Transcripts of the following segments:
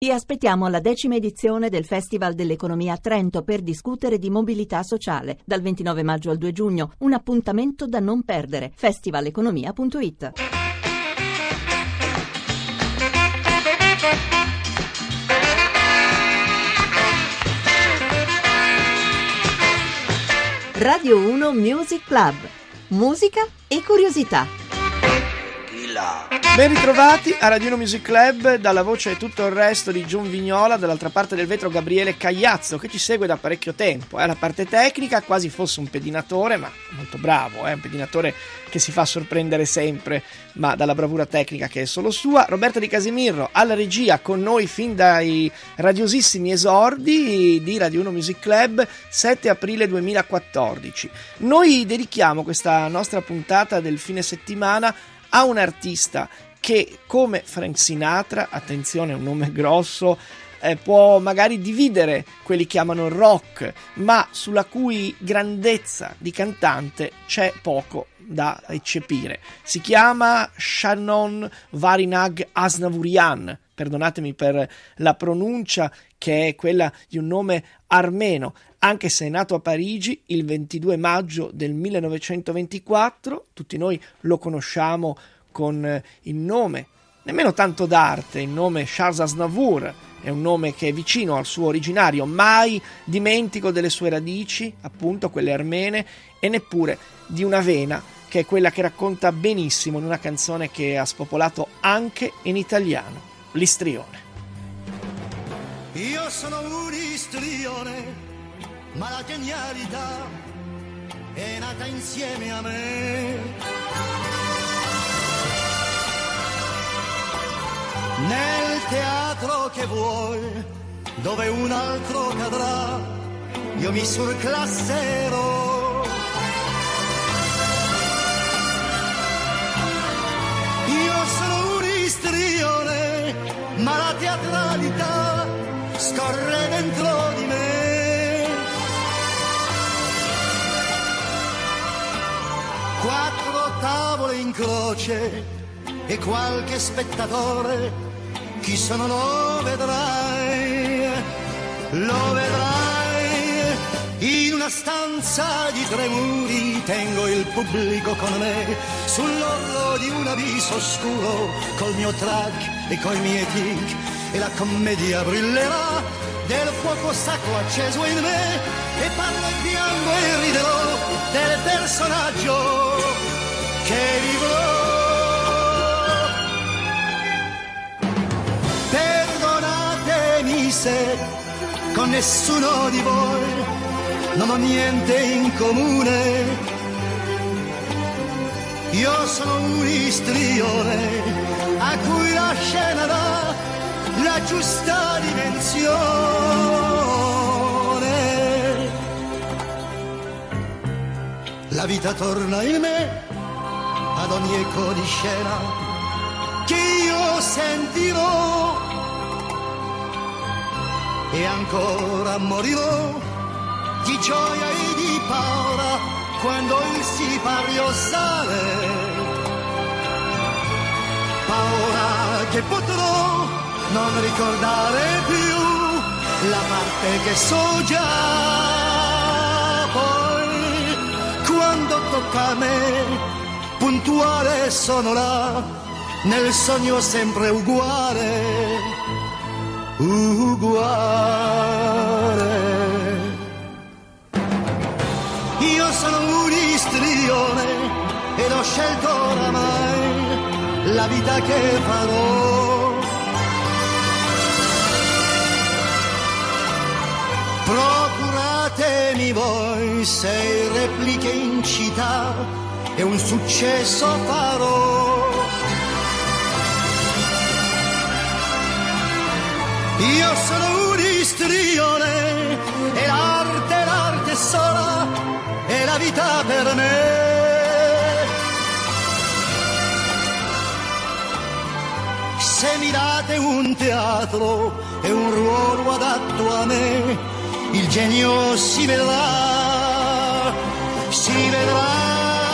Vi aspettiamo alla 10ª edizione del Festival dell'Economia a Trento per discutere di mobilità sociale. Dal 29 maggio al 2 giugno, un appuntamento da non perdere. festivaleconomia.it. Radio 1 Music Club. Musica e curiosità. Ben ritrovati a Radio 1 Music Club, dalla voce e tutto il resto di John Vignola, dall'altra parte del vetro Gabriele Cagliazzo, che ci segue da parecchio tempo. La parte tecnica, quasi fosse un pedinatore, ma molto bravo, un pedinatore che si fa sorprendere sempre, ma dalla bravura tecnica che è solo sua. Roberta Di Casimirro alla regia, con noi fin dai radiosissimi esordi di Radio 1 Music Club, 7 aprile 2014. Noi dedichiamo questa nostra puntata del fine settimana a un artista che, come Frank Sinatra, attenzione, è un nome grosso, può magari dividere quelli che amano il rock, ma sulla cui grandezza di cantante c'è poco da eccepire. Si chiama Shannon Varinag Asnavurian, perdonatemi per la pronuncia, che è quella di un nome armeno, anche se è nato a Parigi il 22 maggio del 1924, tutti noi lo conosciamo con il nome, nemmeno tanto d'arte, il nome Charles Aznavour, è un nome che è vicino al suo originario, mai dimentico delle sue radici, appunto quelle armene, e neppure di una vena che è quella che racconta benissimo in una canzone che ha spopolato anche in italiano, l'istrione. Io sono un istrione, ma la genialità è nata insieme a me. Nel teatro che vuoi, dove un altro cadrà, io mi surclasserò. Io sono un istrione, ma la teatralità scorre dentro di me. 4 tavole in croce e qualche spettatore, chi sono lo vedrai, in una stanza di 3 muri tengo il pubblico con me, sull'orlo di un abisso oscuro, col mio track e coi miei tic, e la commedia brillerà del fuoco sacro acceso in me, e parlo e piango e riderò del personaggio che vivrò. Se con nessuno di voi non ho niente in comune, io sono un istrione a cui la scena dà la giusta dimensione. La vita torna in me ad ogni eco di scena che io sentirò, e ancora morirò di gioia e di paura quando il sipario sale, paura che potrò non ricordare più la parte che so già. Poi quando tocca a me, puntuale sono là, nel sogno sempre uguale. Io sono un istrione ed ho scelto oramai la vita che farò. Procuratemi voi 6 repliche in città e un successo farò. Io sono un istrione e l'arte sola è la vita per me. Se mi date un teatro e un ruolo adatto a me, il genio si vedrà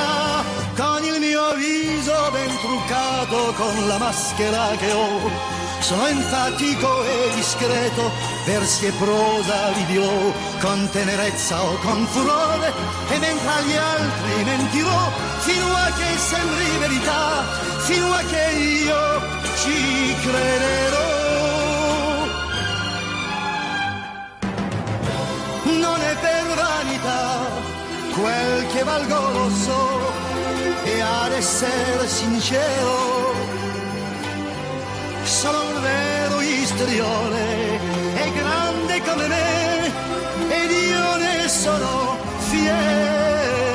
con il mio viso ben truccato, con la maschera che ho Sono enfatico e discreto, versi e prosa li dirò con tenerezza o con furore, e mentre agli altri mentirò fino a che sembri verità, fino a che io ci crederò. Non è per vanità, quel che valgo lo so, e ad essere sincero sono un vero istrione, è grande come me ed io ne sono fiero.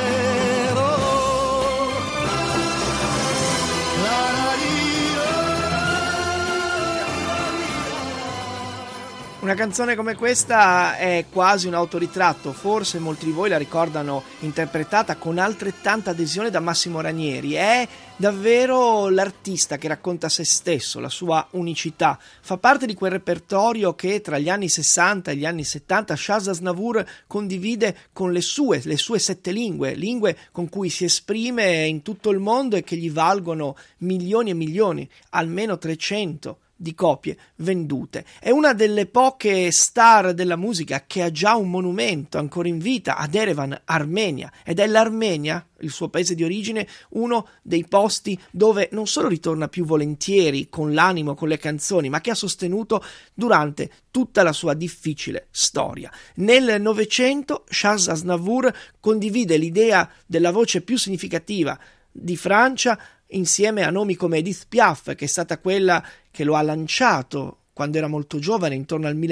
Una canzone come questa è quasi un autoritratto, forse molti di voi la ricordano interpretata con altrettanta adesione da Massimo Ranieri. È davvero l'artista che racconta se stesso, la sua unicità. Fa parte di quel repertorio che tra gli anni 60 e gli anni 70 Charles Aznavour condivide con le sue 7 lingue con cui si esprime in tutto il mondo e che gli valgono milioni e milioni, almeno 300 di copie vendute. È una delle poche star della musica che ha già un monumento ancora in vita ad Erevan, Armenia, ed è l'Armenia, il suo paese di origine, uno dei posti dove non solo ritorna più volentieri con l'animo, con le canzoni, ma che ha sostenuto durante tutta la sua difficile storia. Nel Novecento Charles Aznavour condivide l'idea della voce più significativa di Francia insieme a nomi come Edith Piaf, che è stata quella che lo ha lanciato quando era molto giovane, intorno al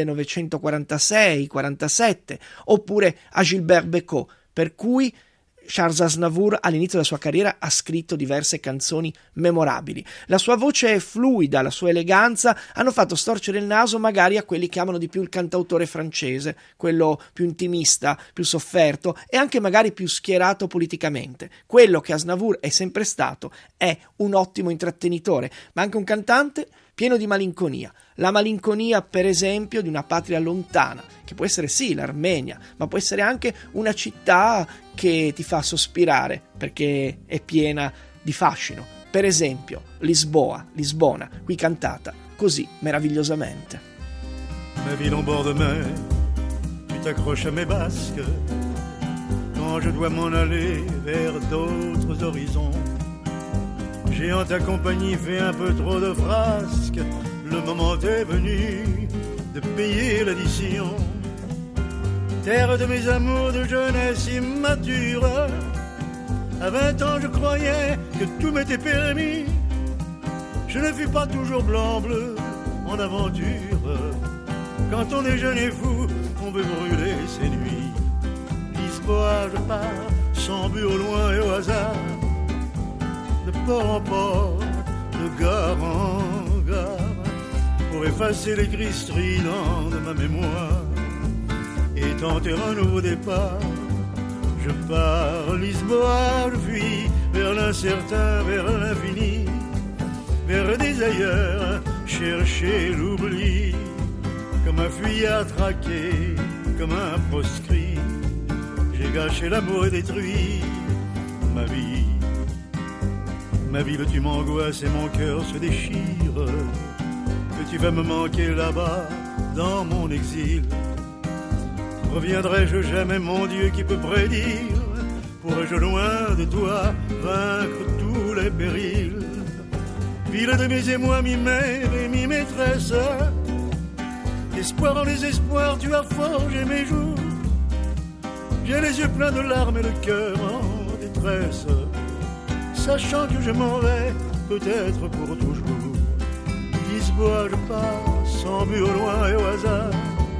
1946-47, oppure a Gilbert Bécaud, per cui Charles Aznavour all'inizio della sua carriera ha scritto diverse canzoni memorabili. La sua voce fluida, la sua eleganza hanno fatto storcere il naso magari a quelli che amano di più il cantautore francese, quello più intimista, più sofferto e anche magari più schierato politicamente. Quello che Aznavour è sempre stato è un ottimo intrattenitore, ma anche un cantante pieno di malinconia. La malinconia, per esempio, di una patria lontana, che può essere sì l'Armenia, ma può essere anche una città che ti fa sospirare perché è piena di fascino. Per esempio Lisbona, qui cantata così meravigliosamente. Ma ville en bord de mer, tu t'accroches à mes basques quand je dois m'en aller vers d'autres horizons. J'ai en ta compagnie fait un peu trop de frasques. Le moment est venu de payer l'addition. Terre de mes amours de jeunesse immature. À 20 ans je croyais que tout m'était permis. Je ne fus pas toujours blanc-bleu en aventure. Quand on est jeune et fou, on veut brûler ses nuits. Lisboa, je pars, sans but au loin et au hasard. De port en port, de gare en gare, pour effacer les cris stridents de ma mémoire et tenter un nouveau départ. Je pars, Lisboa, je fuis vers l'incertain, vers l'infini, vers des ailleurs, chercher l'oubli, comme un fuyard traqué, comme un proscrit. J'ai gâché l'amour et détruit ma vie. Ma ville, tu m'angoisses et mon cœur se déchire. Que tu vas me manquer là-bas, dans mon exil. Reviendrai-je jamais, mon Dieu, qui peut prédire? Pourrais-je loin de toi vaincre tous les périls? Ville de mes émois, mi-mère et mi-maîtresse. Espoir en désespoir, tu as forgé mes jours. J'ai les yeux pleins de larmes et le cœur en détresse, sachant que je m'en vais, peut-être pour toujours. Lisboa, je pars, sans but au loin et au hasard,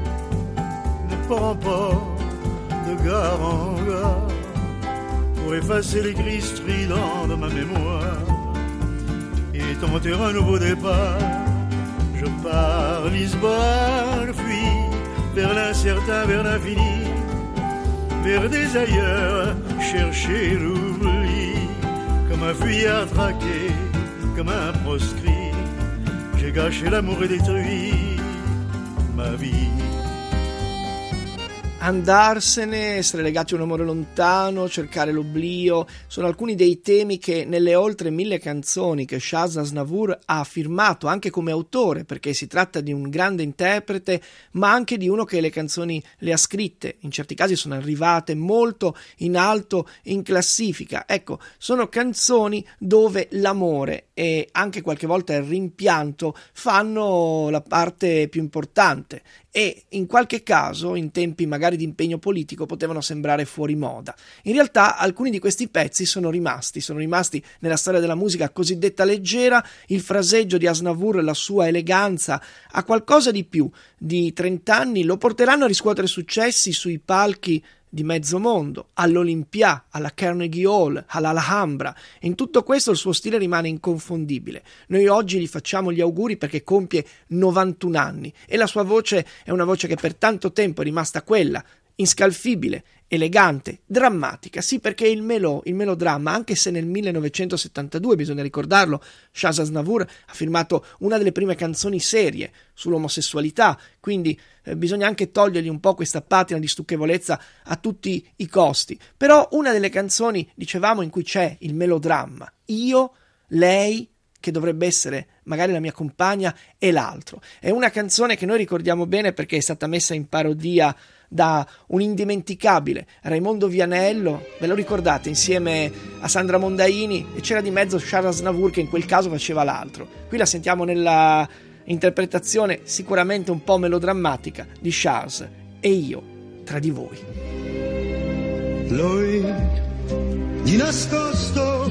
de port en port, de gare en gare, pour effacer les cris stridents de ma mémoire et tenter un nouveau départ. Je pars, Lisboa, je fuis vers l'incertain, vers l'infini, vers des ailleurs, chercher l'oubli. Comme un fuyard traqué, comme un proscrit, j'ai gâché l'amour et détruit ma vie. Andarsene, essere legati a un amore lontano, cercare l'oblio, sono alcuni dei temi che nelle oltre 1000 canzoni che Shaz Aznavour ha firmato anche come autore, perché si tratta di un grande interprete, ma anche di uno che le canzoni le ha scritte, in certi casi sono arrivate molto in alto in classifica. Ecco, sono canzoni dove l'amore e anche qualche volta il rimpianto fanno la parte più importante e in qualche caso, in tempi magari di impegno politico, potevano sembrare fuori moda. In realtà alcuni di questi pezzi sono rimasti nella storia della musica cosiddetta leggera. Il fraseggio di Aznavour, la sua eleganza, a qualcosa di più di 30 anni lo porteranno a riscuotere successi sui palchi di mezzo mondo, all'Olympia, alla Carnegie Hall, all'Alhambra. In tutto questo il suo stile rimane inconfondibile. Noi oggi gli facciamo gli auguri perché compie 91 anni e la sua voce è una voce che per tanto tempo è rimasta quella, inscalfibile, elegante, drammatica. Sì, perché il melodramma, anche se nel 1972, bisogna ricordarlo, Shaz Aznavour ha firmato una delle prime canzoni serie sull'omosessualità, quindi bisogna anche togliergli un po' questa patina di stucchevolezza a tutti i costi. Però una delle canzoni, dicevamo, in cui c'è il melodramma, io, lei, che dovrebbe essere magari la mia compagna, e l'altro. È una canzone che noi ricordiamo bene perché è stata messa in parodia da un indimenticabile Raimondo Vianello, ve lo ricordate, insieme a Sandra Mondaini, e c'era di mezzo Shaz Aznavour che in quel caso faceva l'altro. Qui la sentiamo nella interpretazione sicuramente un po' melodrammatica di Shaz, E io tra di voi. Lui di nascosto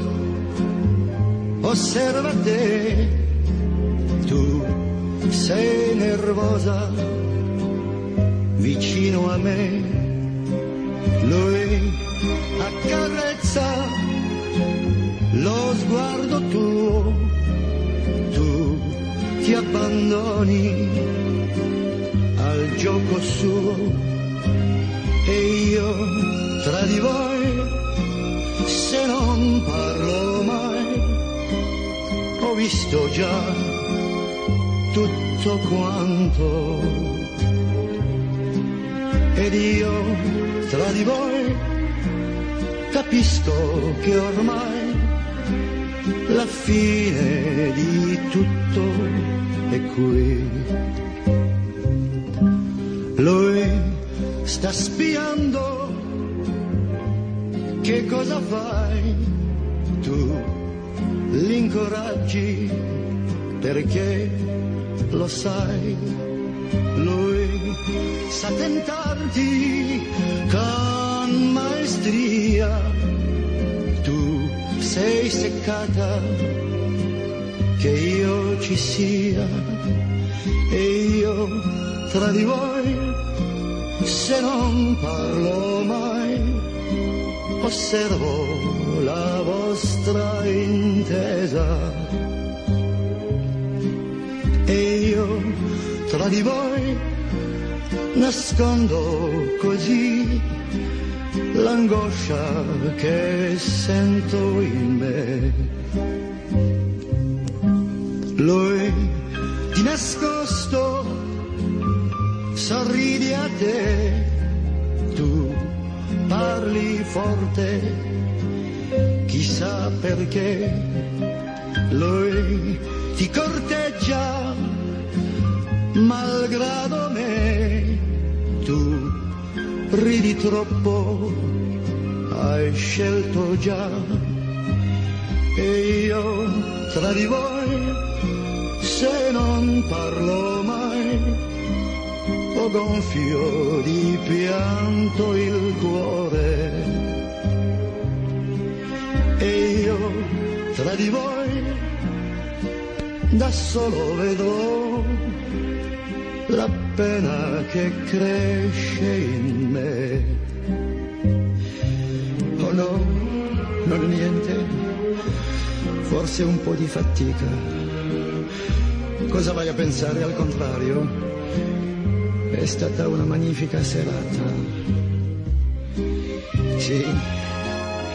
osserva te, tu sei nervosa vicino a me, lui accarezza lo sguardo tuo, tu ti abbandoni al gioco suo e io tra di voi se non parlo mai ho visto già tutto quanto ed io tra di voi capisco che ormai la fine di tutto è qui. Lui sta spiando che cosa fai, tu l'incoraggi perché lo sai, lui sa tentarti con maestria, tu sei seccata che io ci sia e io tra di voi se non parlo mai osservo la vostra intesa e io tra di voi nascondo così l'angoscia che sento in me. Lui di nascosto sorridi a te, tu parli forte, chissà perché. Lui ti corteggia malgrado me, tu ridi troppo, hai scelto già e io tra di voi se non parlo mai ho gonfio di pianto il cuore e io tra di voi da solo vedo la pena che cresce in me. Oh no, non niente, forse un po' di fatica. Cosa vai a pensare? Al contrario, è stata una magnifica serata. Sì,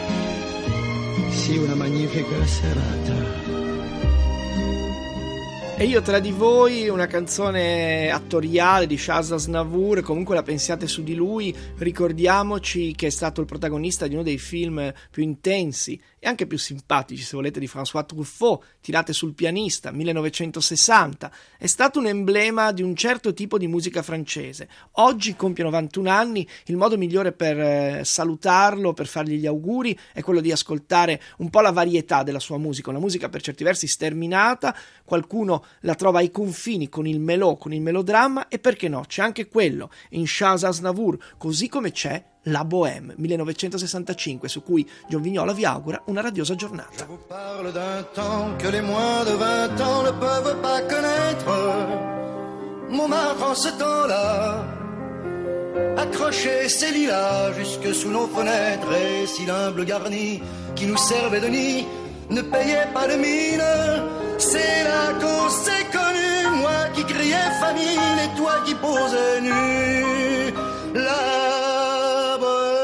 una magnifica serata. E io tra di voi, una canzone attoriale di Charles Aznavour, comunque la pensiate su di lui, ricordiamoci che è stato il protagonista di uno dei film più intensi e anche più simpatici, se volete, di François Truffaut, Tirate sul pianista, 1960. È stato un emblema di un certo tipo di musica francese. Oggi compie 91 anni, il modo migliore per salutarlo, per fargli gli auguri, è quello di ascoltare un po' la varietà della sua musica, una musica per certi versi sterminata, qualcuno la trova ai confini con il melò, con il melodramma, e perché no, c'è anche quello in Charles Aznavour, così come c'è La Bohème, 1965, su cui John Vignola vi augura una radiosa giornata. Je vous parle d'un temps que les moins de 20 ans ne peuvent pas connaître. Montmartre en ce temps-là accrochait ses lilas jusque sous nos fenêtres, et si l'humble garni qui nous servait de nid ne payait pas de mine, c'est là qu'on s'est connus, moi qui criais famine et toi qui posais nu. La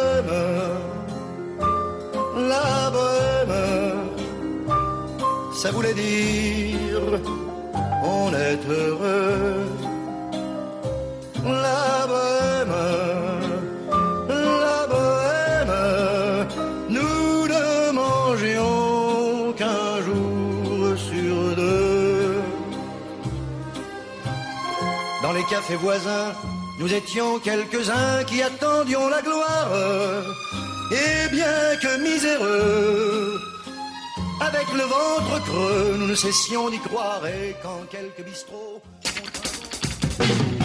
bohème, ça voulait dire on est heureux. La bohème, nous ne mangions qu'un jour sur deux. Dans les cafés voisins, nous étions quelques-uns qui attendions la gloire. Et bien que miséreux, avec le ventre creux, nous ne cessions d'y croire. Et quand quelques bistrots